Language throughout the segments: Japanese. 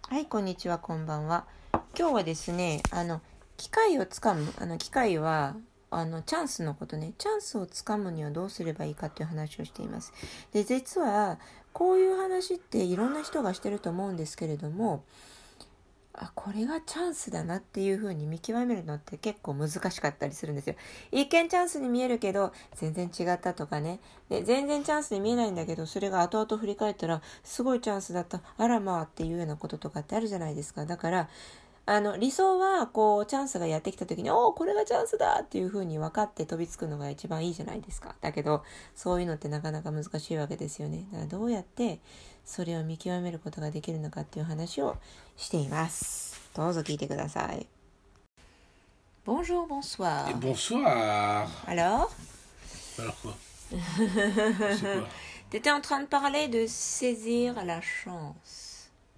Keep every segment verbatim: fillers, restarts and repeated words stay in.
はい、こんにちは、こんばんは。今日はですね、あの機会をつかむ、あの機会はあのチャンスのことね、チャンスをつかむにはどうすればいいかという話をしています。で、実はこういう話っていろんな人がしてると思うんですけれども、あ、これがチャンスだなっていう風に見極めるのって結構難しかったりするんですよ。一見チャンスに見えるけど全然違ったとかね。で、全然チャンスに見えないんだけど、それが後々振り返ったらすごいチャンスだった、あらまあっていうようなこととかってあるじゃないですか。だからあの理想はこうチャンスがやってきた時に、おおこれがチャンスだっていう風に分かって飛びつくのが一番いいじゃないですか。だけどそういうのってなかなか難しいわけですよね。だからどうやってそれを見極めることができるのかっていう話をしています。どうぞ聞いてください。Bonjour, bonsoir. Et bonsoir. Alors Alors quoi? C'est quoi? T'étais en train de parler de saisir la chance.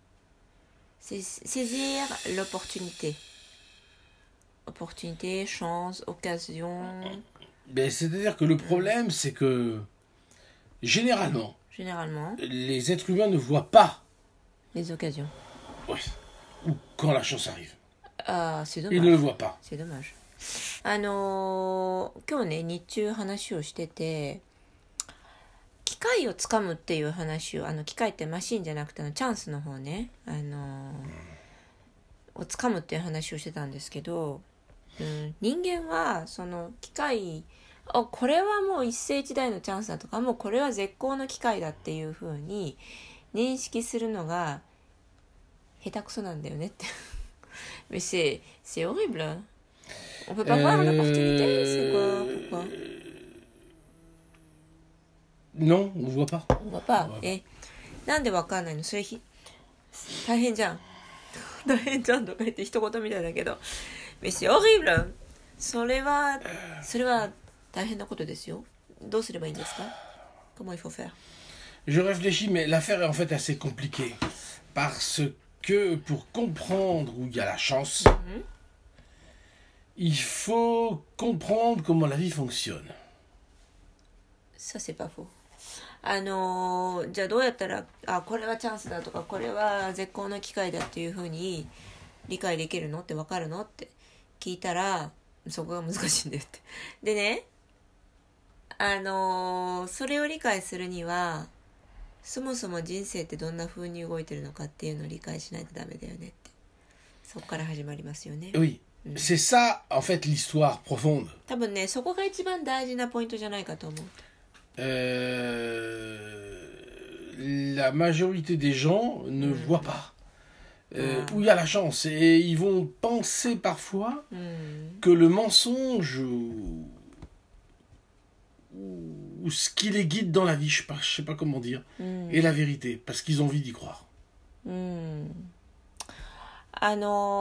Saisir l'opportunité. Opportunité, chance, occasion. Ben, c'est-à-dire que le problème, c'est que généralement, Généralement, les êtres humains ne voient pas les occasions. ouais, ou quand la chance arrive. Ah, c'est dommage. Ils ne le voient pas. C'est dommage. あのー、今日ね、日中話をしてて、機会をつかむっていう話を、あの機会ってマシンじゃなくてのチャンスの方ね、あのー、をつかむっていう話をしてたんですけど、うん、人間はその機会、あ、これはもう一世一代のチャンスだとか、もうこれは絶好の機会だっていう風に認識するのが下手くそなんだよねって。Mais c'est, c'est horrible. On peut pas voir l'opportunité, c'est quoi? Pourquoi? Non, on ne voit pas. On voit pas. え、なんでわかんないの？それひ大変じゃん。大変じゃんとか言って一言みたいだけど。Mais c'est horrible. それは、それは大変なことですよ。どうすればいいんですか？ Comment il faut faire? Je réfléchis, mais l'affaire est en fait assez compliquée. Parce que pour comprendre où il y a la chance, mm-hmm. il faut comprendre comment la vie fonctionne. Ça, c'est pas faux. あのー、じゃあどうやったら、あ、これはチャンスだとか、これは絶好の機会だっていうふうに理解できるのって分かるのって聞いたら、そこが難しいんだよって。でね、あのー、それを理解するには、そもそも人生ってどんな風に動いてるのかっていうのを理解しないとダメだよねって。そこから始まりますよね。 Oui, mm. c'est ça en fait l'histoire profonde. 多分ね、そこが一番大事なポイントじゃないかと思う。 Euh, la majorité des gens ne mm. voient pas euh, ah. où il y a la chance et ils vont penser parfois mm. que le mensonge ou, ou ce qui les guide dans la vie, je sais pas, je sais pas comment dire, mm. est la vérité parce qu'ils ont envie d'y croire. Mm. あ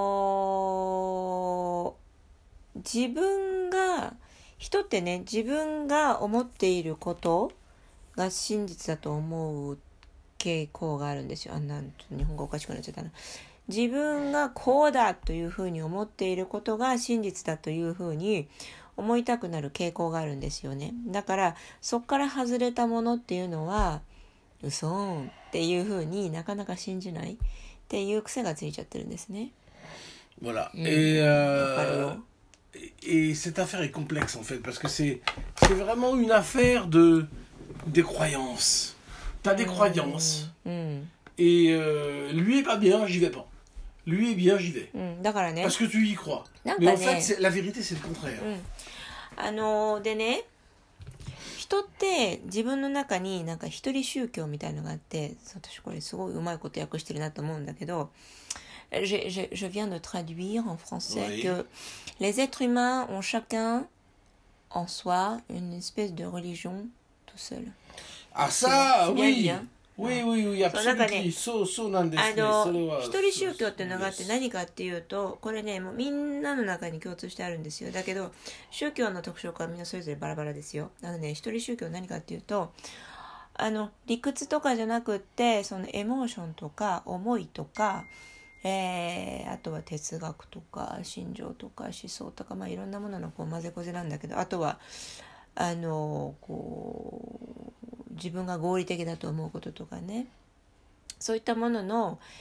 のー、自分が人ってね、自分が思っていることが真実だと思う傾向があるんですよ。あんな日本語おかしくなっちゃったな。自分がこうだというふうに思っていることが真実だというふうに思いたくなる傾向があるんですよね。だからそこから外れたものっていうのは嘘ーっていうふうになかなか信じないっていう癖がついちゃってるんですね。 Voilà. Mm. Et, euh, et cette affaire est complexe en fait parce que c'est, c'est vraiment une affaire de, des croyances. T'as des mm. croyances. Mm. Et euh, lui est pas bien, j'y vais pas. Lui est bien, j'y vais. Mm. Parce que tu y crois. Mais en fait, c'est, la vérité, c'est le contraire. Mm. あのー、でね、人って自分の中になんか一人宗教みたいのがあって、私これすごいうまいこと訳してるなと思うんだけど、Je, je, je viens de traduire en français oui. que les êtres humains ont chacun en soi une espèce de religion tout seul. Ah ça, bien, oui. Bien. Oui, oui, oui, absolument. そう、そうなんですね。 あの、一人宗教っていうのがあって何かっていうと、これね、もうみんなの中に共通してあるんですよ。だけど、宗教の特徴はみんなそれぞれバラバラですよ。なので、一人宗教何かっていうと、あの、理屈とかじゃなくって、そのエモーションとか思いとか、えー、あとは哲学とか心情とか思想とか、まあ、いろんなもののこう混ぜこぜなんだけど、あとはあのこう自分が合理的だと思うこととかね、そういったものの、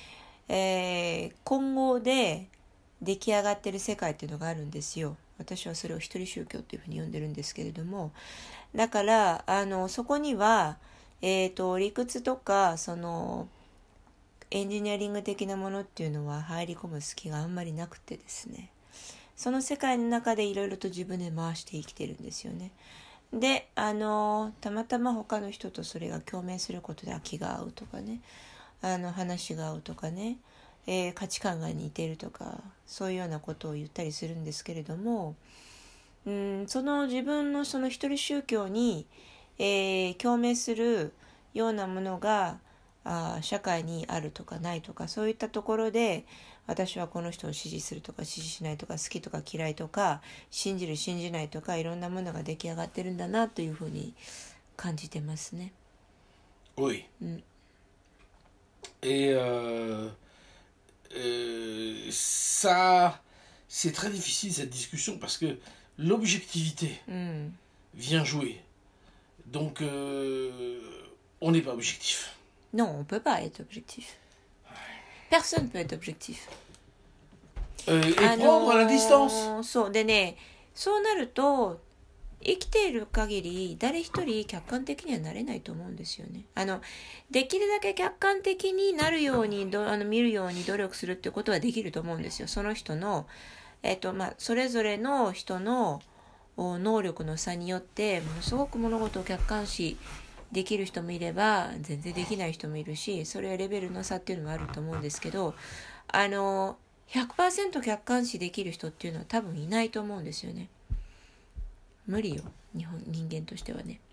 えー、混合で出来上がってる世界っていうのがあるんですよ。私はそれを一人宗教っていうふうに呼んでるんですけれども、だからあのそこには、えーと、理屈とかそのエンジニアリング的なものっていうのは入り込む隙があんまりなくてですね、その世界の中でいろいろと自分で回して生きてるんですよね。で、あのたまたま他の人とそれが共鳴することで気が合うとかね、あの話が合うとかね、えー、価値観が似てるとか、そういうようなことを言ったりするんですけれども、うん、その自分のその一人宗教に、えー、共鳴するようなものがあ社会にあるとかないとか、そういったところで私はこの人を支持するとか支持しないとか、好きとか嫌いとか、信じる信じないとか、いろんなものが出来上がってるんだなというふうに感じてますね。 Oui. うん、 Et euh, euh, ça, c'est très difficile cette discussion parce que l'objectivité うん、 vient jouer. Donc, euh, on n'est pas objectif. Non, on peut pas être objectif. Personne peut être objectif. Euh, et あのー prendre la distance. そうでね、そうなると生きている限り誰一人客観的にはなれないと思うんですよね。あのできるだけ客観的になるようにどあの見るように努力するってことはできると思うんですよ。その人の、えっとまあ、それぞれの人の能力の差によってものすごく物事を客観視できる人もいれば全然できない人もいるし、それはレベルの差っていうのもあると思うんですけど、あの ひゃくパーセント 客観視できる人っていうのは多分いないと思うんですよね。無理よ、日本人間としてはね。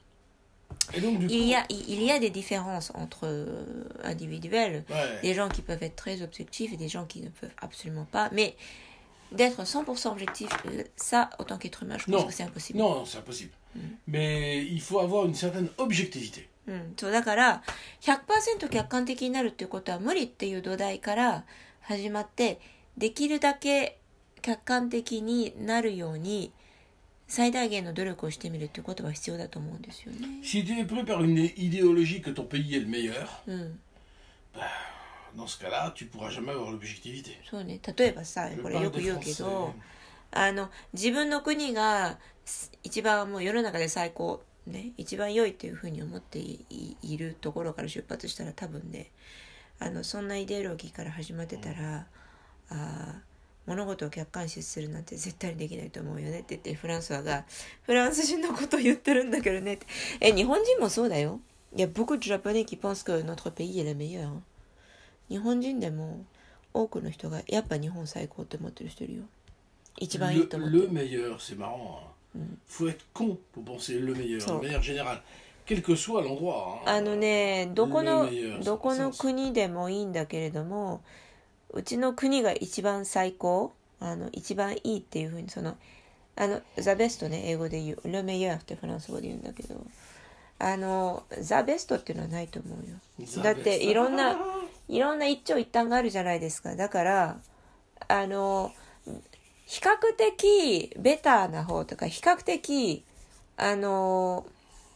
Et donc, du coup, Il y a, il y a des différences entre individuels, ouais. des gens qui peuvent être très objectifs et des gens qui ne peuvent absolument pas. Mais d'être cent pour cent objectif, ça, en tant qu'être humain, je pense Non. que c'est impossible. Non, non, c'est impossible. Mm. Mais il faut avoir une certaine objectivité. うん、そうだから ひゃくパーセント 客観的になるっていうことは無理っていう土台から始まって、できるだけ客観的になるように最大限の努力をしてみるっていうことは必要だと思うんですよね。 Si tu es pris par une idéologie que ton pays est le meilleur, うん、 bah, dans ce cas-là, tu pourras jamais avoir l'objectivité. そうね、例えばさ、これよく言うけど、あの自分の国が一番もう世の中で最高ね、一番良いっていうふうに思って い, いるところから出発したら、多分ね、あのそんなイデオロギーから始まってたら、あ物事を客観視するなんて絶対にできないと思うよねって言って、フランソワがフランス人のことを言ってるんだけどねって。え、日本人もそうだよ。いや、beaucoup de japonais qui pensent que notre pays est le meilleur。日本人でも多くの人がやっぱ日本最高って思ってる人いるよ。一番いいと思ってる。 Le, le meilleur, c'est marrant. Il Mm. faut être con pour penser le meilleur, So. le meilleur général. Quel que soit l'endroit. Hein, あのね、どこの le meilleur, どこの c'est- 国でもいいんだけれども、うちの国が一番最高、あの一番いいっていうふうに、そのあのザベストね、英語で言うle meilleurってフランス語で言うんだけど、あのザベストっていうのはないと思うよ。 ザだってベストいろんないろんな一長一短があるじゃないですか。だからあの比較的ベターな方とか、比較的あの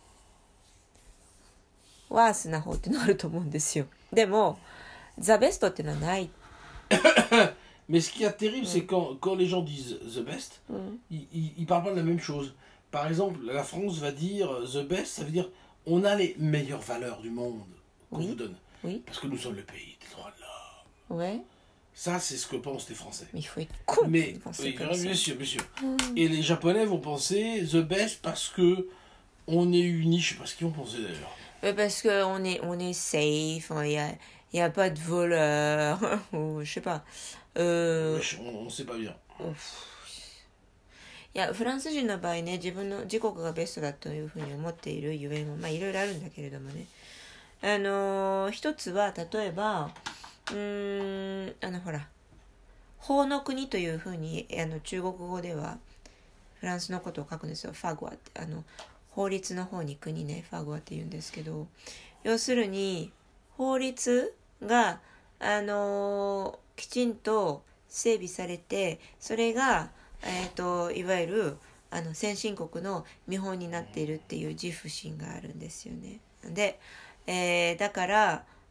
ワースな方っていうのがあると思うんですよ。でもザベストっていうのはない。 Mais ce qui est terrible, c'est quand, quand les gens disent the best, うん、 ils, ils, ils parlent pas de la même chose. Par exemple, la France va dire the best, ça veut dire on a les meilleures valeurs du monde qu'on Oui. vous donne. Oui. Parce que nous sommes le pays des droits de l'homme. Ouais. Ça, c'est ce que pensent les Français. Mais il faut être con Mais, de penser oui, comme bien ça. sûr, bien sûr. Mm. Et les Japonais vont penser the best parce que on est unis. Je sais pas ce qu'ils vont penser d'ailleurs. Mais parce qu'on est, on est safe, il n'y a, y a pas de voleurs, ou je sais pas. Euh, Mais on, on sait pas bien. いや、フランス人の場合ね、自分の自国がベストだというふうに思っているゆえんは、まあいろいろあるんだけれどもね。あのー、一つは、例えば、うーん、あのほら、法の国というふうに、あの中国語ではフランスのことを書くんですよ。ファゴアって、あの、法律の方に国ね、ファゴアって言うんですけど、要するに、法律が、あのー、きちんと整備されて、それが、えーと、いわゆるあの先進国の見本になっているっていう自負心があるんですよね。で、えー、だから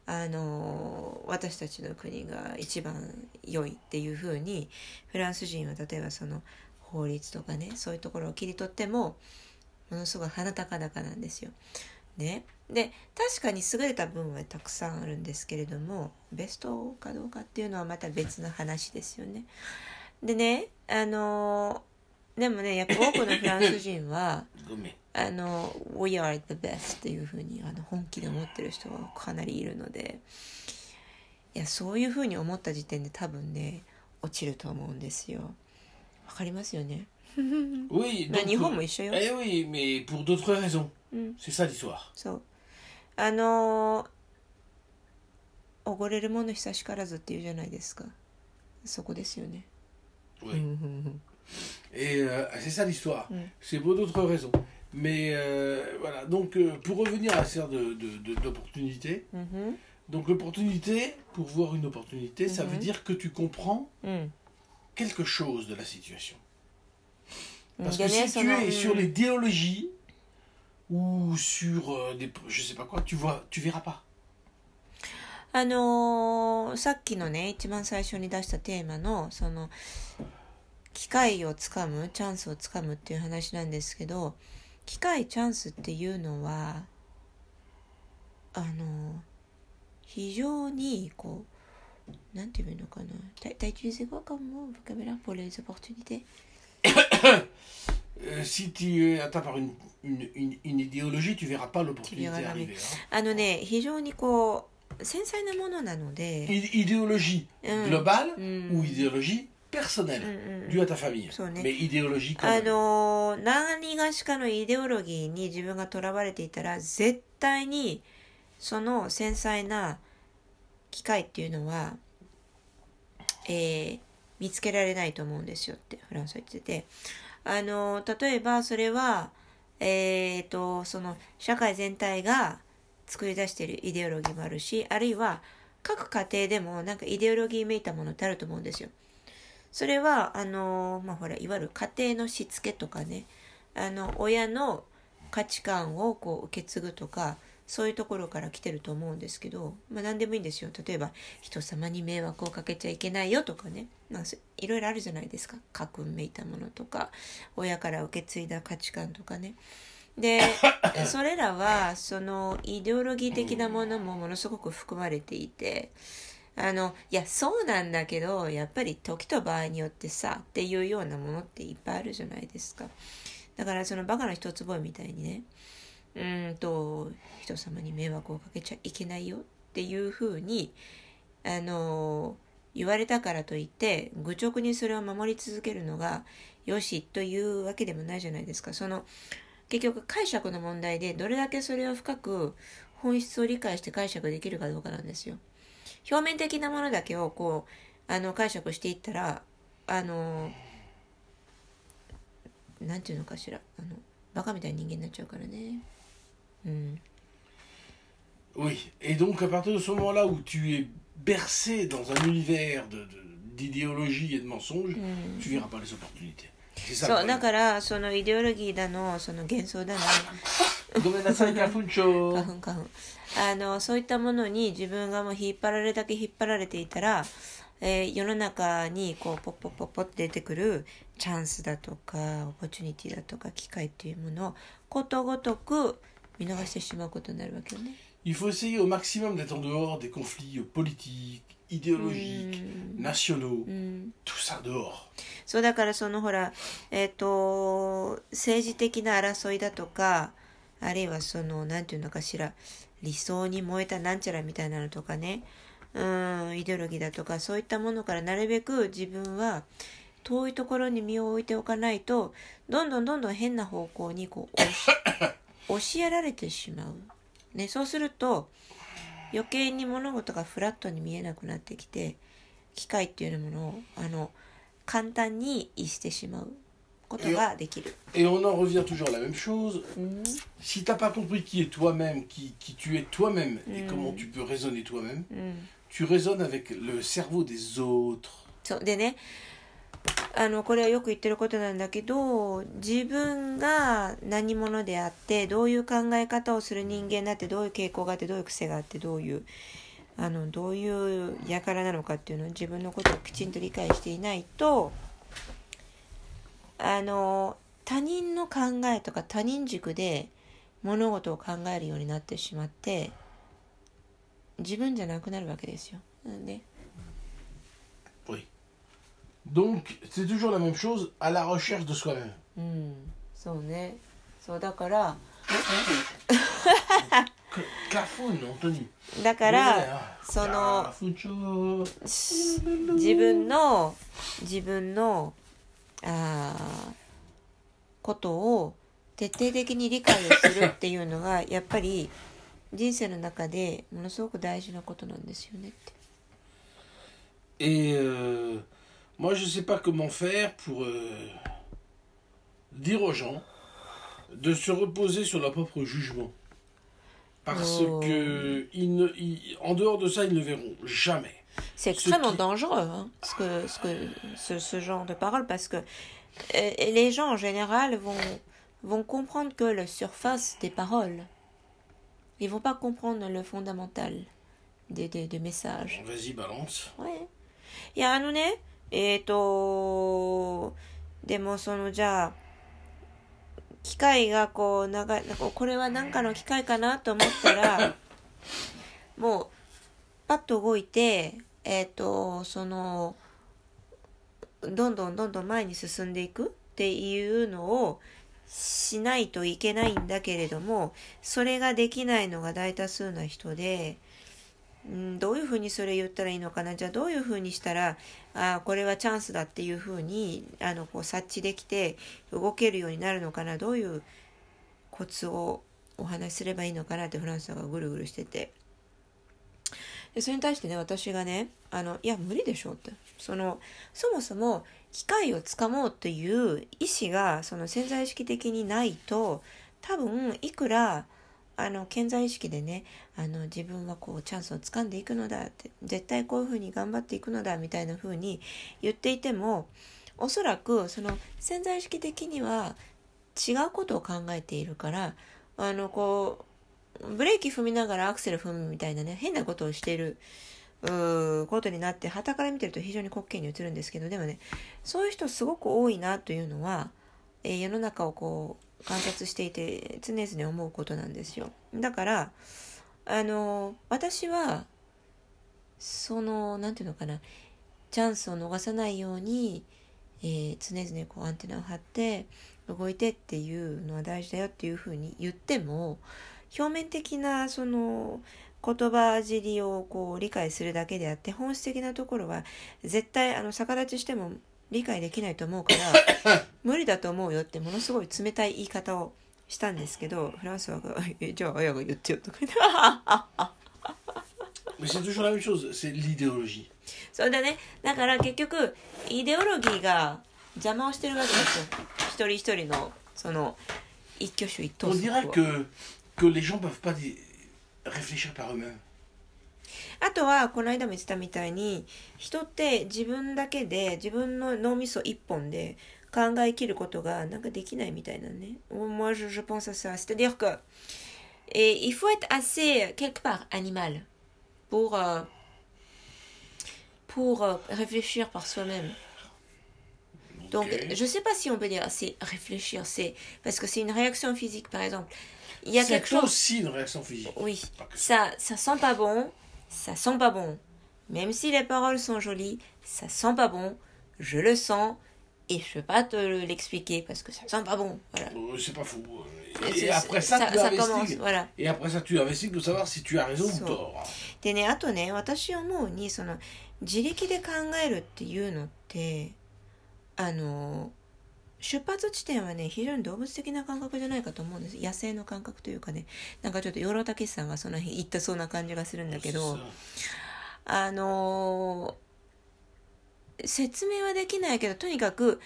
あの私たちの国が一番良いっていうふうにフランス人は例えばその法律とかねそういうところを切り取ってもものすごい鼻高々なんですよ。ね、で確かに優れた部分はたくさんあるんですけれどもベストかどうかっていうのはまた別の話ですよね。でねあのでもねやっぱ多くのフランス人はあの We are the best っていうふうにあの本気で思ってる人がかなりいるのでいやそういうふうに思った時点で多分ね落ちると思うんですよ。わかりますよね。 Oui, まあ donc, 日本も一緒よ。 eh oui, mais pour d'autres raisons. うん、 C'est ça l'histoire. そうあのおごれるもの久しからずっていうじゃないですか。そこですよね。 Oui. Et euh, c'est ça l'histoire. Mm. C'est pour d'autres raisons. Mais euh, voilà, donc euh, pour revenir à l'affaire de, de, de, d'opportunité, mm-hmm. donc l'opportunité, pour voir une opportunité, mm-hmm. ça veut dire que tu comprends mm. quelque chose de la situation. Parce mm. que si tu es mm. sur l'idéologie ou sur euh, des, je sais pas quoi, tu vois, tu verras pas. あのー、さっきのね一番最初に出したテーマのその機会をつかむチャンスをつかむっていう話なんですけど機会チャンスっていうのはあの非常にこうなんていうのかなt'as utilisé quoi comme mot vocabulaire pour les opportunités Euh, si tu es atteint par une, une, une, une idéologie, tu verras pas l'opportunité arriver. Hein. あのね、非常にこう繊細なものなので。 Idéologie globale、うん、ou idéologie personnelle、 うんうん、 due à ta famille. そうね。 Mais idéologie quand même. あの何がしかのイデオロギーに自分がとらわれていたら絶対にその繊細な機会っていうのは、えー、見つけられないと思うんですよってフランスは言ってて。あの例えばそれは、えー、とその社会全体が作り出しているイデオロギーもあるしあるいは各家庭でもなんかイデオロギーめいたものってあると思うんですよ。それはあの、まあ、ほらいわゆる家庭のしつけとかねあの親の価値観をこう受け継ぐとかそういうところから来てると思うんですけど、まあ、何でもいいんですよ。例えば人様に迷惑をかけちゃいけないよとかね、まあ、いろいろあるじゃないですか。家訓めいたものとか親から受け継いだ価値観とかね。でそれらはそのイデオロギー的なものもものすごく含まれていてあのいやそうなんだけどやっぱり時と場合によってさっていうようなものっていっぱいあるじゃないですか。だからそのバカの一つ覚えみたいにねうんと人様に迷惑をかけちゃいけないよっていうふうにあの言われたからといって愚直にそれを守り続けるのがよしというわけでもないじゃないですか。その結局解釈の問題でどれだけそれを深く本質を理解して解釈できるかどうかなんですよ。表面的なものだけをこうあの解釈していったらあのなんていうのかしらあのバカみたいな人間になっちゃうからね。Mm. Oui, et donc à partir de ce moment-là où tu es bercé dans un univers de, de, d'idéologie et de mensonges, mm. tu verras pas les opportunités. C'est ça. そうだからそのイデオロギーだのその幻想だのごめんなさい花粉症花粉花粉あのそういったものに自分がもう引っ張られるだけ引っ張られていたら、えー、世の中にこうポッポッポッポって出てくるチャンスだとかオポチュニティだとか機会っていうものをことごとく見逃してしまうことになるわけよね。 Il faut essayer au maximum d'être en dehors des conflits politiques, idéologiques, nationaux, tout ça dehors. そうだからそのほらえっと政治的な争いだとかあるいはそのなんていうのかしら理想に燃えたなんちゃらみたいなのとかねうんイデオロギーだとかそういったものからなるべく自分は遠いところに身を置いておかないとどんどんどんどん変な方向にこう押しやられてしまう、ね、そうすると余計に物事がフラットに見えなくなってきて機会っていうものをあの簡単に逸してしまうことができる。 Et on en revient toujours à la même chose. Mm. Si t'as pas compris qui est toi-même, qui, qui tu es toi-même mm. et comment tu peux raisonner toi-même, mm. tu raisonnes avec le cerveau des autres. そうでねあのこれはよく言ってることなんだけど自分が何者であってどういう考え方をする人間だってどういう傾向があってどういう癖があってどういうあのどういう輩なのかっていうのを自分のことをきちんと理解していないと、あの他人の考えとか他人軸で物事を考えるようになってしまって自分じゃなくなるわけですよ。ね。 Oui. Donc, c'est toujours la même chose, à la recherche de soi-même. うん、そうね。そうだから。 Clafouine, Anthony. だからその自分の自分のあことを徹底的に理解をするっていうのがやっぱり人生の中でものすごく大事なことなんですよねって。 Et euh, moi je sais pas comment faire pour euh, dire aux gens de se reposer sur leur propre jugement. Parce oh. que ils ne, ils, en dehors de ça, ils ne verront jamais. C'est extrêmement qui... dangereux, hein, ce, que, ce, que, ce, ce genre de paroles, parce que euh, les gens en général vont, vont comprendre que la surface des paroles. Ils vont pas comprendre le fondamental des, des, des messages. Vas-y, balance. Ouais. いや、あのね、えっと、でもそのじゃあ、機械がこう長い、これは何かの機械かなと思ったらもうパッと動いてえっとそのどんどんどんどん前に進んでいくっていうのをしないといけないんだけれども、それができないのが大多数な人で、うん、どういうふうにそれ言ったらいいのかな、じゃあどういうふうにしたらあこれはチャンスだっていうふうにあのこう察知できて動けるようになるのかな、どういうコツをお話しすればいいのかなってフランスがぐるぐるしてて、でそれに対してね私がねあのいや無理でしょって、そのそもそも機会をつかもうっていう意思がその潜在意識的にないと、多分いくらあの潜在意識でねあの自分はこうチャンスをつかんでいくのだって、絶対こういうふうに頑張っていくのだみたいなふうに言っていても、おそらくその潜在意識的には違うことを考えているから、あのこうブレーキ踏みながらアクセル踏むみたいなね変なことをしているうーことになって傍から見てると非常に滑稽に映るんですけど、でもねそういう人すごく多いなというのは、えー、世の中をこう観察していて常々思うことなんですよ。だからあの私はそのなんていうのかな、チャンスを逃さないように、えー、常々こうアンテナを張って動いてっていうのは大事だよっていうふうに言っても、表面的なその言葉尻をこう理解するだけであって本質的なところは絶対あの逆立ちしても理解できないと思うから無理だと思うよってものすごい冷たい言い方をしたんですけど、フランスはえじゃああやが言ってよとか言って Mais c'est toujours la même chose, c'est l'idéologie. そうだね。だから結局イデオロギーが邪魔をしてるわけですよ。一人一人のその一挙手一投足。 On dirait que que les gens peuvent pas réfléchir par eux-mêmes. あとはこの間も言ってたみたいに、人って自分だけで自分の脳みそ一本で考え切ることがなんかできないみたいなね。Moi je, je pense à ça. C'est-à-dire que et il faut être assez quelque part animal pour euh, pour euh, réfléchir par soi-même. Donc okay. Je sais pas si on peut dire c'est réfléchir, c'est parce que c'est une réaction physique par exemple. Il y a c'est quelque chose aussi une réaction physique. Oui, ça ça sent pas bon. Ça sent pas bon. Même si les paroles sont jolies, ça sent pas bon. Je le sens et je peux pas te l'expliquer parce que ça sent pas bon. Voilà. Euh, c'est pas fou. Et, et après ça, ça, tu ça commence, voilà. Et après ça, tu investigues pour savoir si tu as raison ou tort. でね、あとね、私思うにその自力で考えるっていうのってあの出発地点はね非常に動物的な感覚じゃないかと思うんです。野生の感覚というかね、なんかちょっと養老孟司さんがその辺言ったそうな感じがするんだけど、あのー、説明はできないけどとにかく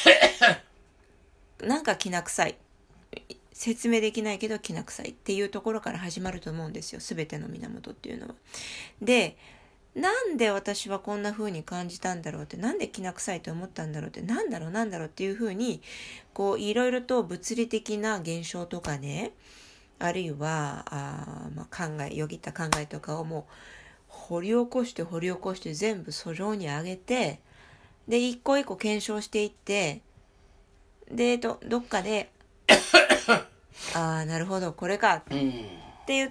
なんかきな臭い、説明できないけどきな臭いっていうところから始まると思うんですよ、すべての源っていうのは。でなんで私はこんな風に感じたんだろうって、なんできな臭いと思ったんだろうって、なんだろうなんだろうっていう風にこういろいろと物理的な現象とかね、あるいはあ、まあ、考えよぎった考えとかをもう掘り起こして掘り起こして全部訴状に上げて、で一個一個検証していって、でどどっかでああなるほどこれかって言って、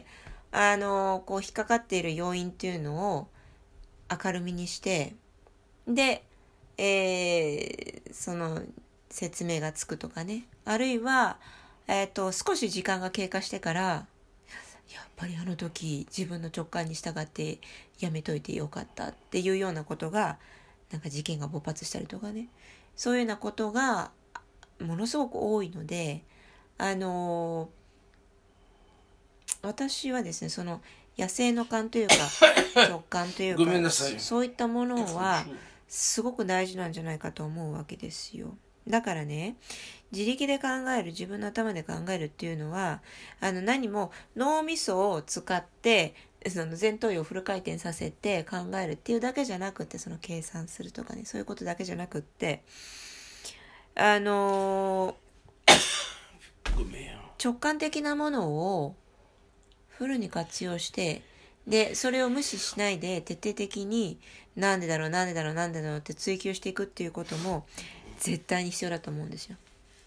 あのこう引っかかっている要因っていうのを明るみにして、で、えー、その説明がつくとかね、あるいは、えーと、少し時間が経過してからやっぱりあの時自分の直感に従ってやめといてよかったっていうようなことが、なんか事件が勃発したりとかね、そういうようなことがものすごく多いので、あのー、私はですね、その野生の感というか直感というかそういったものはすごく大事なんじゃないかと思うわけですよ。だからね、自力で考える、自分の頭で考えるっていうのは、あの何も脳みそを使ってその前頭葉をフル回転させて考えるっていうだけじゃなくて、その計算するとかね、そういうことだけじゃなくって、あのー、直感的なものをフルに活用して、でそれを無視しないで徹底的になんでだろうなんでだろうなんでだろうって追求していくっていうことも絶対に必要だと思うんですよ。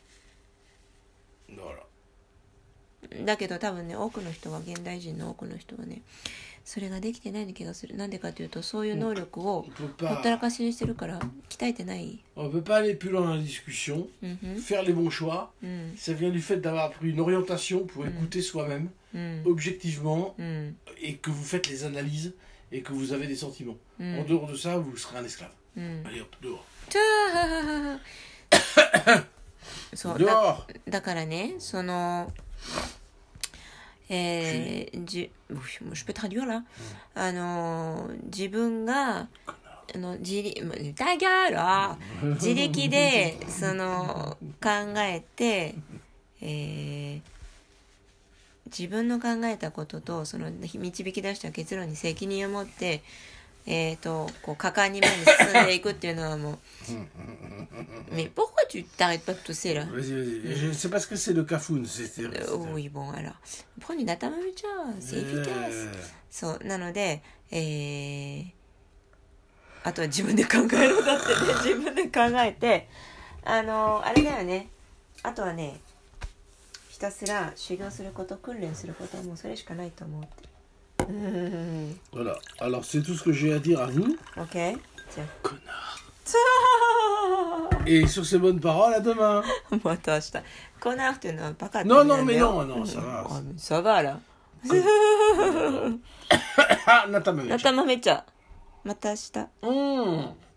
だけど多分ね、多くの人は、現代人の多くの人はね、それができてないような気がする。なんでかというと、そういう能力をほったらかしにしてるから、鍛えてない。 On ne peut pas aller plus loin dans la discussion, mm-hmm. faire les bons choix. Mm. Ça vient du fait d'avoir pris une orientation pour mm. écouter soi-même, mm. objectivement, mm. et que vous faites les analyses et que vous avez des sentiments. Mm. En dehors de ça, vous serez un esclave. Mm. Allez hop, dehors. そう dehors. だ, だからね、そのえー、じje peux traduire là、うん、あの自分があの自力だが自力でその考えて、えー、自分の考えたこととその導き出した結論に責任を持ってえーと、こう果敢に前に進んでいくっていうのはもうMais pourquoi tu t'arrêtes pas de tousser là? C'est parce que c'est le cafoun. Oui, bon, alors. Prends une atamamucha, c'est efficace. そう、なので、えー、あとは自分で考えろだってね、自分で考えて、あの、あれだよね。あとはね、ひたすら修行すること、訓練することはもうそれしかないと思うって。 Voilà, alors c'est tout ce que j'ai à dire à vous. Ok, tiens. Connard. Et sur ces bonnes paroles, à demain. Connard, tu n'as pas qu'à. Non, non, mais non, non, ça va. Oh, ça va là. Ah, Natamamecha. Natamamecha. Mata shita. Mmh.